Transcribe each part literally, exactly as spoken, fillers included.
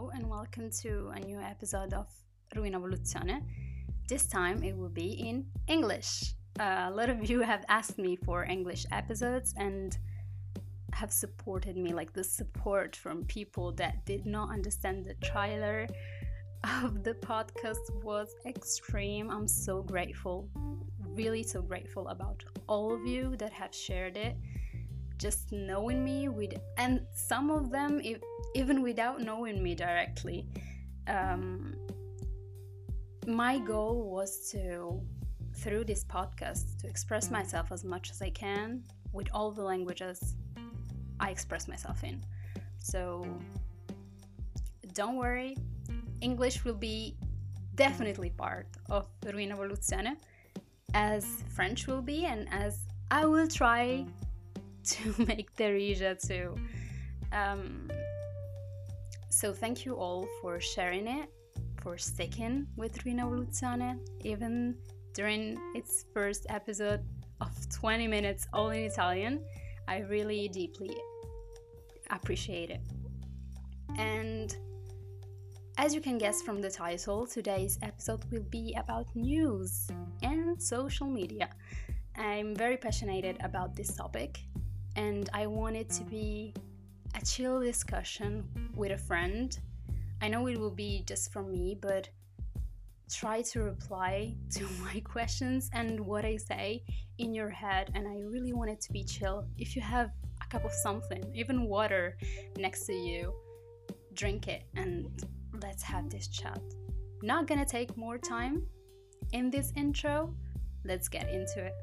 Hello and welcome to a new episode of Ruina Evoluzione. This time it will be in English. Uh, a lot of you have asked me for English episodes and have supported me, like the support from people that did not understand the trailer of the podcast was extreme. I'm so grateful, really so grateful about all of you that have shared it. Just knowing me with, and some of them if, even without knowing me directly. Um, my goal was to, through this podcast, to express myself as much as I can with all the languages I express myself in. So don't worry, English will be definitely part of Ruina Evoluzione, as French will be, and as I will try to make Theresia too. Um, so thank you all for sharing it, for sticking with Ruina Evoluzione, even during its first episode of twenty minutes all in Italian. I really deeply appreciate it. And as you can guess from the title, today's episode will be about news and social media. I'm very passionate about this topic, and I want it to be a chill discussion with a friend. I know it will be just for me, but try to reply to my questions and what I say in your head, and I really want it to be chill. If you have a cup of something, even water next to you, drink it and let's have this chat. Not gonna take more time in this intro. Let's get into it.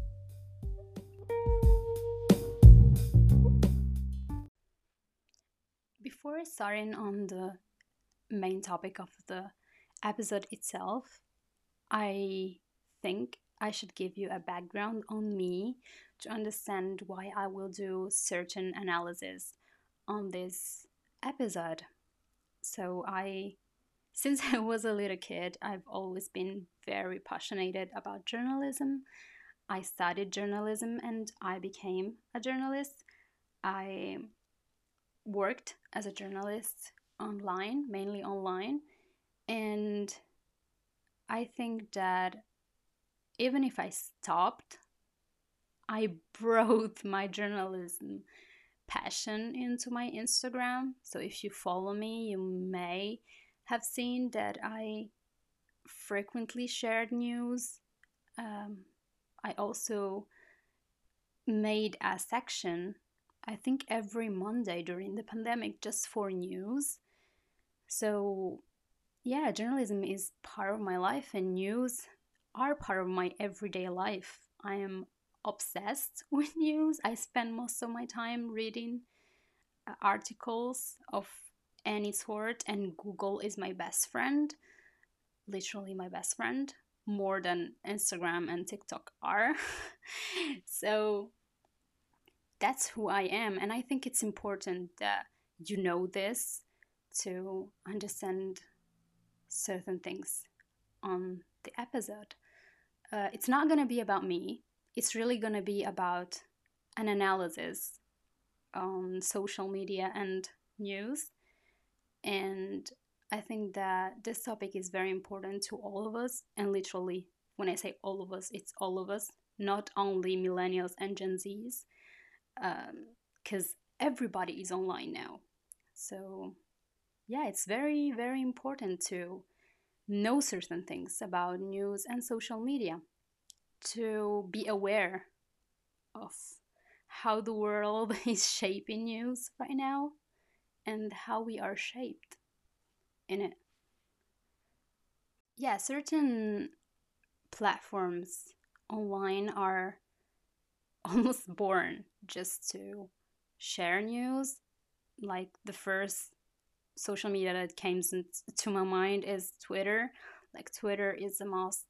Before starting on the main topic of the episode itself, I think I should give you a background on me to understand why I will do certain analysis on this episode. So I, since I was a little kid, I've always been very passionate about journalism. I studied journalism and I became a journalist. I worked as a journalist online, mainly online, and I think that even if I stopped, I brought my journalism passion into my Instagram. So if you follow me, you may have seen that I frequently shared news. Um, I also made a section, I think every Monday during the pandemic, just for news. So yeah, journalism is part of my life and news are part of my everyday life. I am obsessed with news. I spend most of my time reading uh, articles of any sort, and Google is my best friend, literally my best friend, more than Instagram and TikTok are. So that's who I am, and I think it's important that you know this to understand certain things on the episode. Uh, it's not going to be about me, it's really going to be about an analysis on social media and news. And I think that this topic is very important to all of us, and literally, when I say all of us, it's all of us, not only millennials and Gen Zs, because um, everybody is online now. So yeah, it's very, very important to know certain things about news and social media, to be aware of how the world is shaping news right now and how we are shaped in it. Yeah, certain platforms online are almost born just to share news. Like the first social media that came to my mind is Twitter. Like Twitter is the most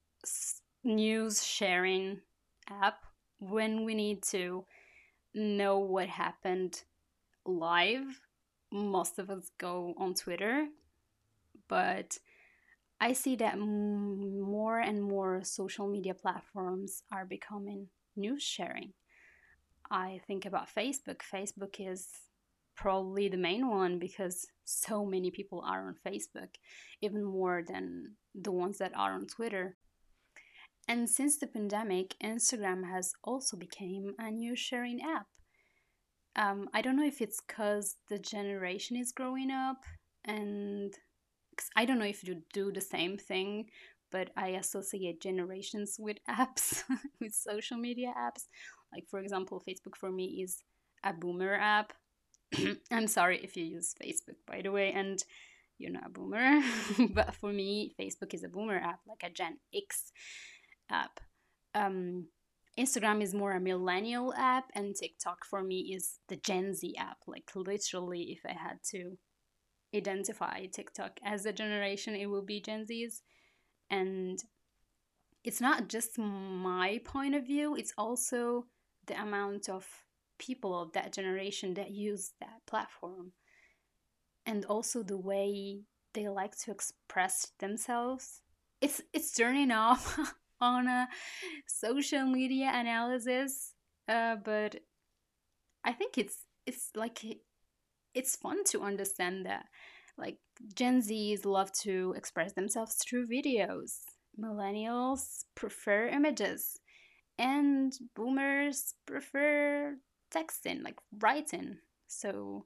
news sharing app when we need to know what happened live. Most of us go on Twitter, but I see that more and more social media platforms are becoming news sharing. I think about Facebook. Facebook is probably the main one because so many people are on Facebook, even more than the ones that are on Twitter. And since the pandemic, Instagram has also become a new sharing app. Um, I don't know if it's because the generation is growing up, and 'cause I don't know if you do the same thing, but I associate generations with apps, with social media apps. Like, for example, Facebook for me is a boomer app. I'm sorry if you use Facebook, by the way, and you're not a boomer, but for me, Facebook is a boomer app, like a Gen X app. Um, Instagram is more a millennial app, and TikTok for me is the Gen Z app. Like, literally, if I had to identify TikTok as a generation, it will be Gen Z's. And it's not just my point of view, it's also the amount of people of that generation that use that platform. And also the way they like to express themselves. It's it's turning off on a social media analysis, uh, but I think it's it's like it's fun to understand that. Like, Gen Zs love to express themselves through videos. Millennials prefer images, and boomers prefer texting, like writing. So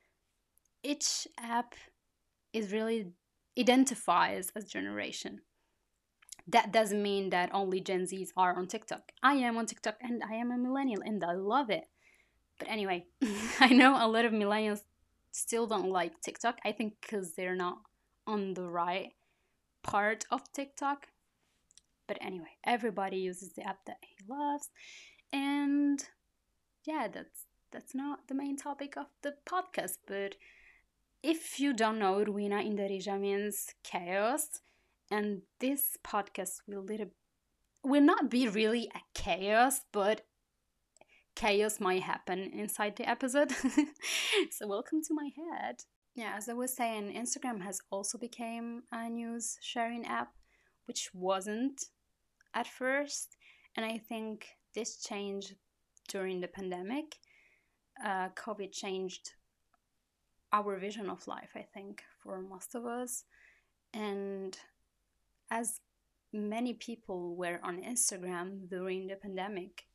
each app is really identifies as generation. That doesn't mean that only Gen Zs are on TikTok. I am on TikTok and I am a millennial and I love it. But anyway, I know a lot of millennials still don't like TikTok. I think because they're not on the right part of TikTok. But anyway, everybody uses the app that he loves. And yeah, that's that's not the main topic of the podcast. But if you don't know, Ruina Indarija means chaos. And this podcast will little will not be really a chaos, but chaos might happen inside the episode. So welcome to my head. Yeah, as I was saying, Instagram has also become a news sharing app, which wasn't at first. And I think this changed during the pandemic. Uh, COVID changed our vision of life, I think, for most of us. And as many people were on Instagram during the pandemic,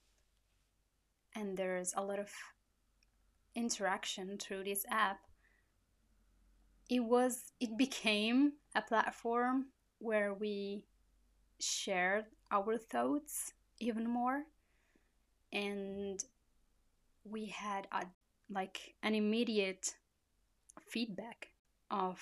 and there's a lot of interaction through this app, it was it became a platform where we shared our thoughts even more, and we had a like an immediate feedback of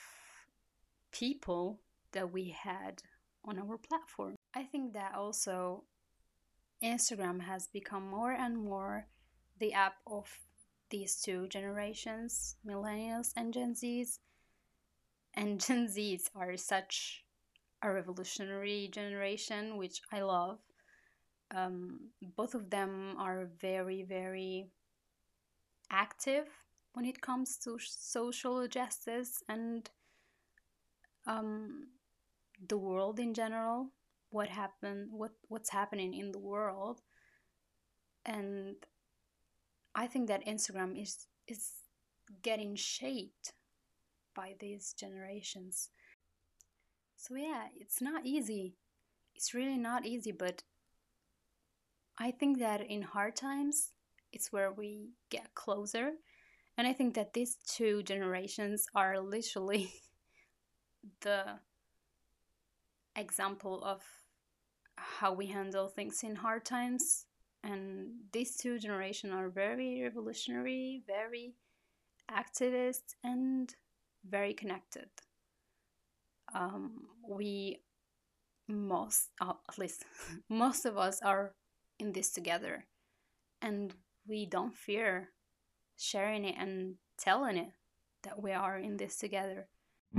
people that we had on our platform. I think that also Instagram has become more and more the app of these two generations, millennials and Gen Zs. And Gen Zs are such a revolutionary generation, which I love. Um, both of them are very, very active when it comes to social justice and um, the world in general. What happened? What what's happening in the world? And I think that Instagram is is getting shaped by these generations. So yeah, it's not easy. It's really not easy, but I think that in hard times, it's where we get closer. And I think that these two generations are literally the example of how we handle things in hard times. And these two generations are very revolutionary, very activist, and very connected. Um, we most, uh, at least most of us, are in this together, and we don't fear sharing it and telling it that we are in this together.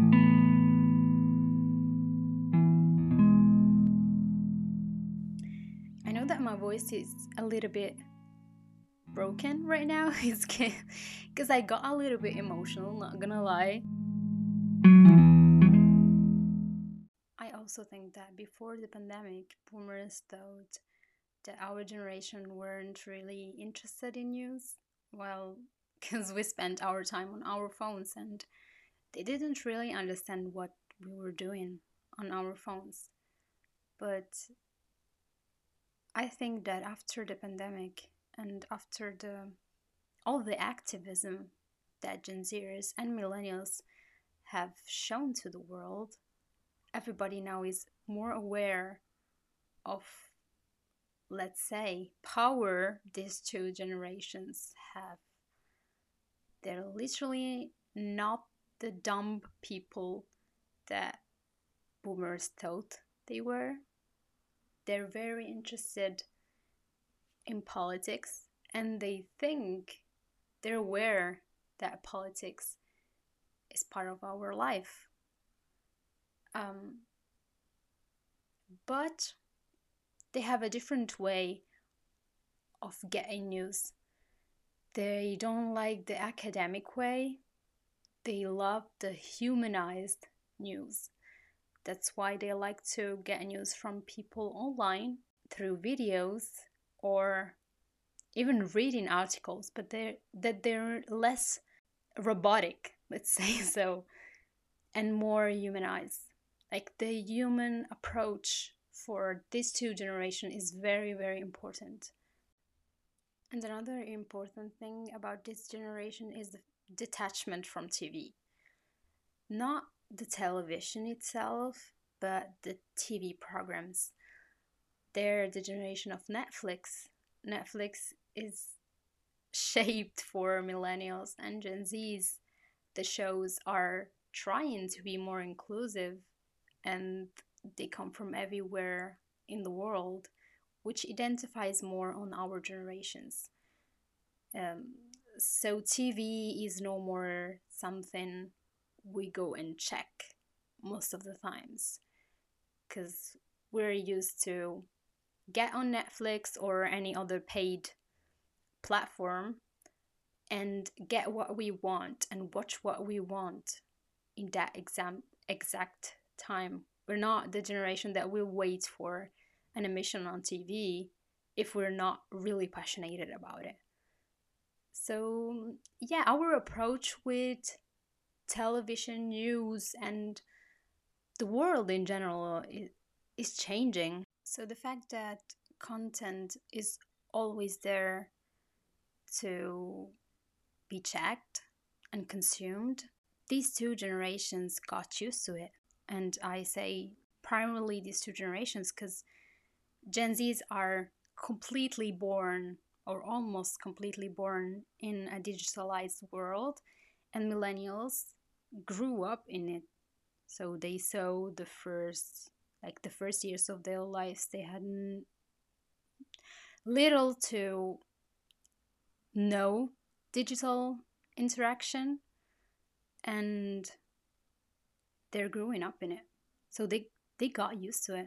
I know that my voice is a little bit broken right now. It's because I got a little bit emotional, not gonna lie. I also think that before the pandemic, boomers thought that our generation weren't really interested in news, while because we spent our time on our phones and they didn't really understand what we were doing on our phones. But I think that after the pandemic and after the all the activism that Gen Zers and millennials have shown to the world, everybody now is more aware of, let's say, power these two generations have. They're literally not the dumb people that boomers thought they were. They're very interested in politics and they think they're aware that politics is part of our life. Um, but they have a different way of getting news. They don't like the academic way. They love the humanized news. That's why they like to get news from people online through videos or even reading articles, but they're that they're less robotic, let's say so, and more humanized. Like the human approach for these two generations is very, very important. And another important thing about this generation is the detachment from T V. Not the television itself, but the T V programs. They're the generation of Netflix. Netflix is shaped for millennials and Gen Zs. The shows are trying to be more inclusive and they come from everywhere in the world, which identifies more on our generations. Um, so T V is no more something we go and check most of the times because we're used to get on Netflix or any other paid platform and get what we want and watch what we want in that exam exact time. We're not the generation that will wait for an emission on T V if we're not really passionate about it. So, yeah, our approach with television news and the world in general is, is changing. So, the fact that content is always there to be checked and consumed, these two generations got used to it. And I say primarily these two generations because Gen Zs are completely born or almost completely born in a digitalized world, and millennials grew up in it. So they saw the first, like the first years of their lives, they had n- little to no digital interaction, and they're growing up in it. So they they got used to it.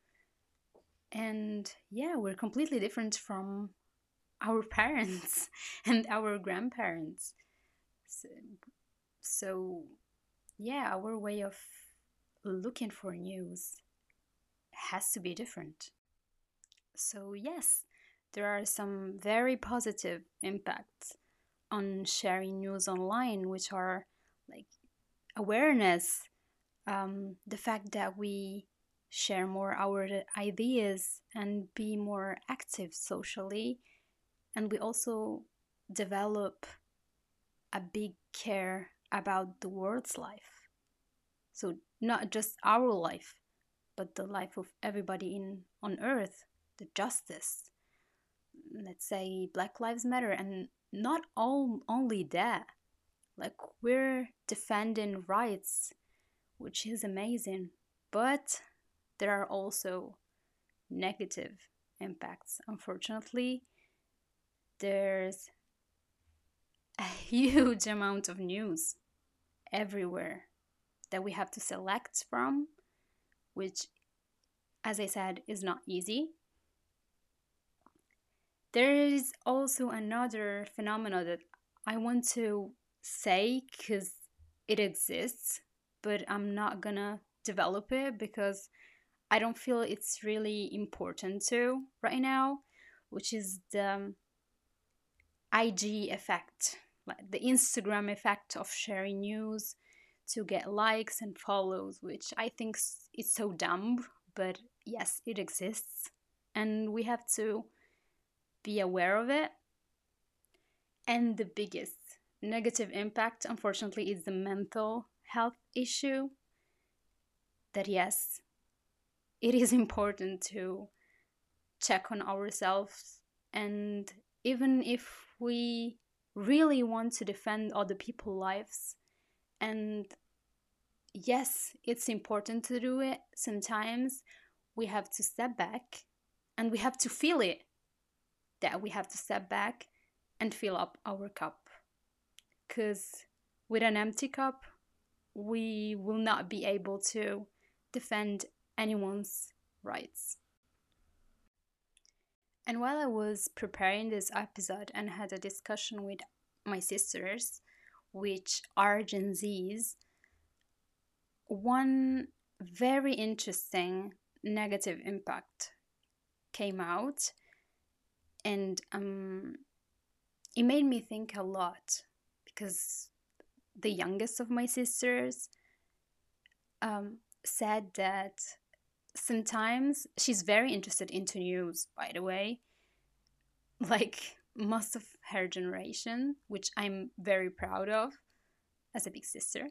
And yeah, we're completely different from our parents and our grandparents. So, so yeah, our way of looking for news has to be different. So yes, there are some very positive impacts on sharing news online, which are like awareness, um, the fact that we share more our ideas and be more active socially, and we also develop a big care about the world's life. So not just our life, but the life of everybody in on earth, the justice. Let's say Black Lives Matter, and not all only that. Like we're defending rights, which is amazing, but there are also negative impacts. Unfortunately, there's a huge amount of news everywhere that we have to select from, which, as I said, is not easy. There is also another phenomenon that I want to say because it exists, but I'm not gonna develop it because I don't feel it's really important to right now, which is the I G effect. like the Instagram effect of sharing news to get likes and follows, which I think is so dumb, but yes, it exists. And we have to be aware of it. And the biggest negative impact, unfortunately, is the mental health issue. That, yes, it is important to check on ourselves. And even if we really want to defend other people's lives, and yes, it's important to do it, sometimes we have to step back and we have to feel it, that we have to step back and fill up our cup. Because with an empty cup, we will not be able to defend anyone's rights. And while I was preparing this episode and had a discussion with my sisters, which are Gen Zs, one very interesting negative impact came out, and um, it made me think a lot, because the youngest of my sisters um, said that sometimes she's very interested into news, by the way, like most of her generation, which I'm very proud of as a big sister.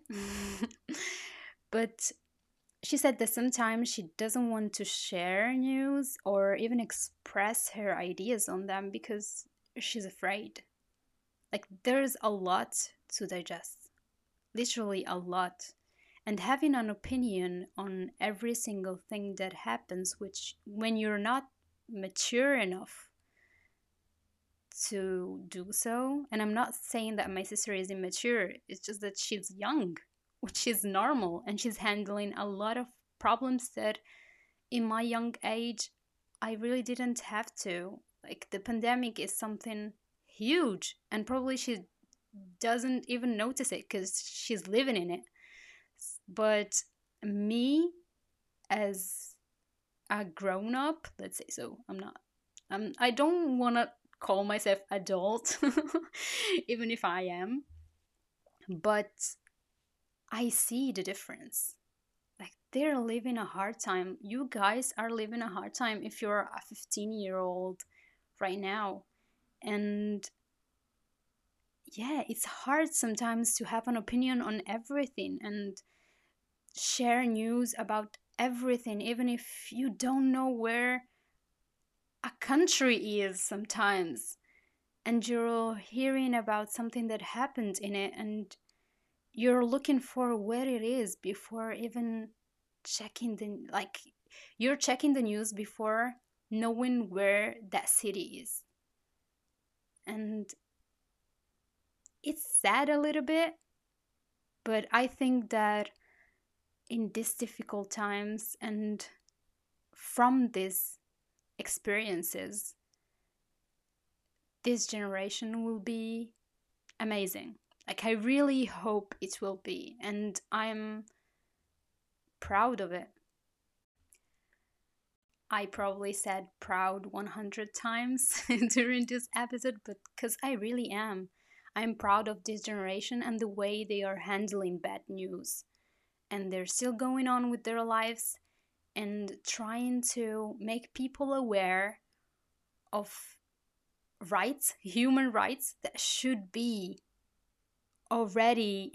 But she said that sometimes she doesn't want to share news or even express her ideas on them because she's afraid. Like, there's a lot to digest, literally a lot. And having an opinion on every single thing that happens, which when you're not mature enough to do so, and I'm not saying that my sister is immature, it's just that she's young, which is normal, and she's handling a lot of problems that in my young age I really didn't have to. Like, the pandemic is something huge, and probably she doesn't even notice it because she's living in it. But me, as a grown up, let's say, so I'm not, um, I don't want to call myself adult, even if I am, but I see the difference. Like, they're living a hard time. You guys are living a hard time if you're a fifteen year old right now. And yeah, it's hard sometimes to have an opinion on everything and share news about everything, even if you don't know where a country is sometimes, and you're hearing about something that happened in it, and you're looking for where it is before even checking the, like, you're checking the news before knowing where that city is. And it's sad a little bit, but I think that in these difficult times and from these experiences, this generation will be amazing. Like, I really hope it will be, and I'm proud of it. I probably said proud one hundred times during this episode, but because I really am. I'm proud of this generation and the way they are handling bad news. And they're still going on with their lives and trying to make people aware of rights, human rights that should be already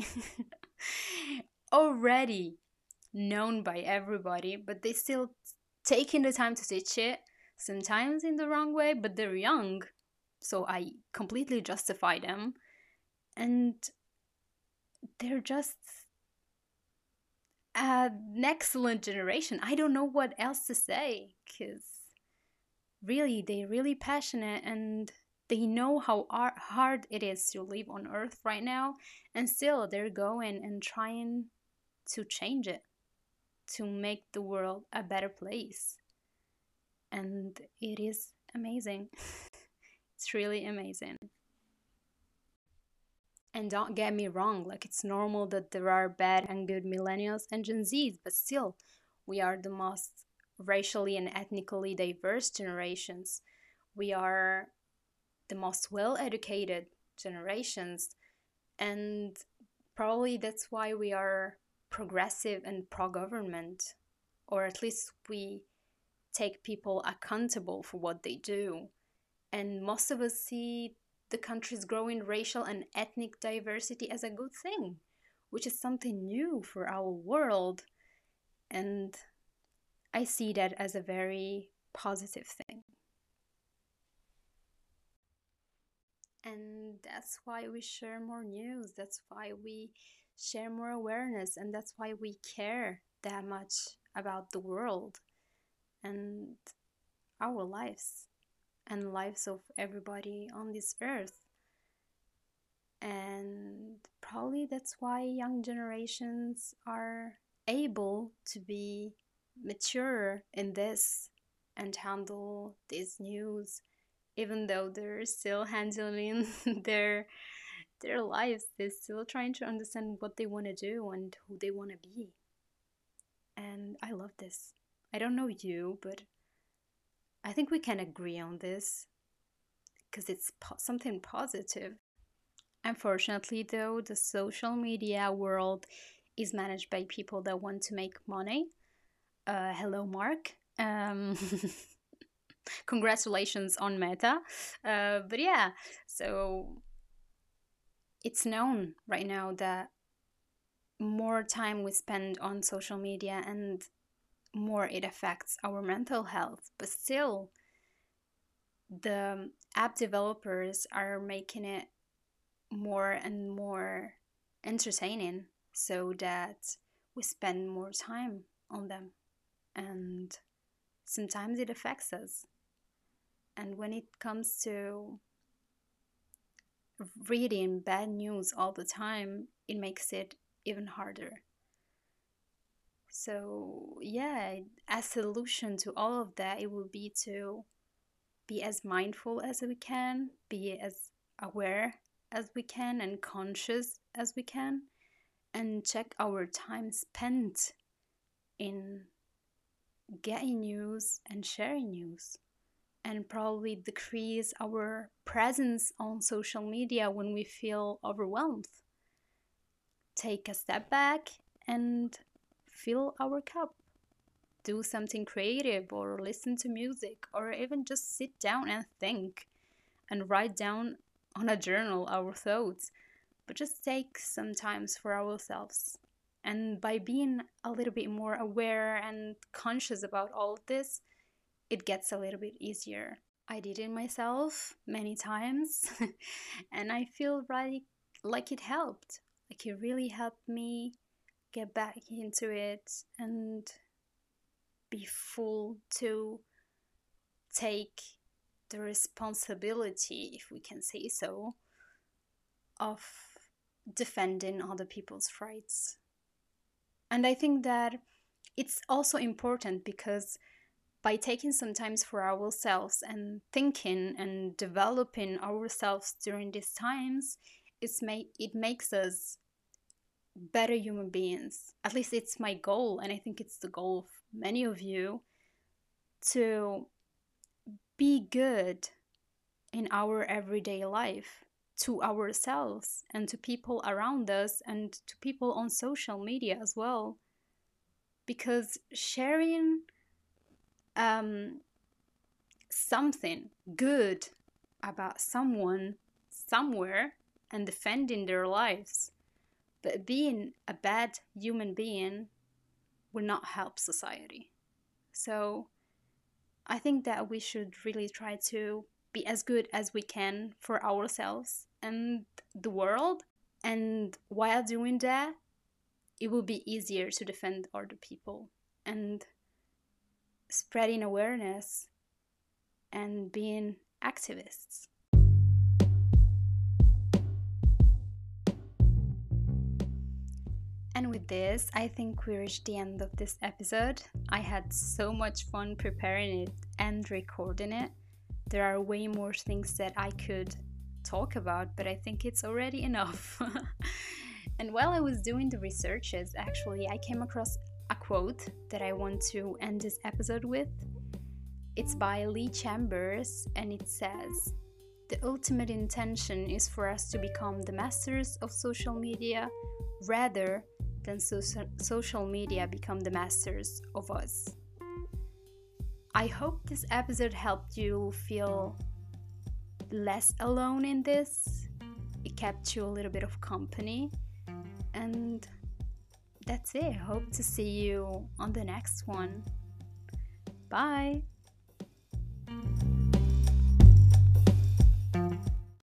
already known by everybody, but they still taking the time to teach it, sometimes in the wrong way, but they're young, so I completely justify them. And they're just an excellent generation. I don't know what else to say, because really, they're really passionate and they know how hard it is to live on Earth right now, and still they're going and trying to change it, to make the world a better place. And it is amazing. It's really amazing. And don't get me wrong, like, it's normal that there are bad and good millennials and Gen Zs, but still, we are the most racially and ethnically diverse generations. We are the most well-educated generations. And probably that's why we are progressive and pro-government, or at least we take people accountable for what they do. And most of us see the country's growing racial and ethnic diversity as a good thing, which is something new for our world. And I see that as a very positive thing. And that's why we share more news. That's why we share more awareness. And that's why we care that much about the world and our lives and lives of everybody on this earth. And probably that's why young generations are able to be mature in this and handle this news, even though they're still handling their their lives. They're still trying to understand what they want to do and who they want to be. And I love this. I don't know you, but I think we can agree on this because it's po- something positive. Unfortunately, though, the social media world is managed by people that want to make money. Uh, hello, Mark. Um, congratulations on Meta. Uh, but yeah, so it's known right now that more time we spend on social media and more it affects our mental health. But still, the app developers are making it more and more entertaining so that we spend more time on them. And sometimes it affects us. And when it comes to reading bad news all the time, it makes it even harder. So, yeah, a solution to all of that, it will be to be as mindful as we can, be as aware as we can, and conscious as we can, and check our time spent in getting news and sharing news, and probably decrease our presence on social media when we feel overwhelmed. Take a step back and fill our cup. Do something creative, or listen to music, or even just sit down and think and write down on a journal our thoughts. But just take some time for ourselves. And by being a little bit more aware and conscious about all of this, it gets a little bit easier. I did it myself many times, and I feel right, like it helped. Like it really helped me get back into it and be full to take the responsibility, if we can say so, of defending other people's rights. And I think that it's also important because by taking some time for ourselves and thinking and developing ourselves during these times, it's make, it makes us better human beings. At least it's my goal, and I think it's the goal of many of you, to be good in our everyday life, to ourselves and to people around us and to people on social media as well. Because sharing um, something good about someone somewhere and defending their lives, but being a bad human being, will not help society. So I think that we should really try to be as good as we can for ourselves and the world. And while doing that, it will be easier to defend other people and spreading awareness and being activists. And with this, I think we reached the end of this episode. I had so much fun preparing it and recording it. There are way more things that I could talk about, but I think it's already enough. And while I was doing the researches, actually, I came across a quote that I want to end this episode with. It's by Lee Chambers, and it says, The ultimate intention is for us to become the masters of social media rather than so- social media become the masters of us. I hope this episode helped you feel less alone in this. It kept you a little bit of company. And that's it. Hope to see you on the next one. Bye.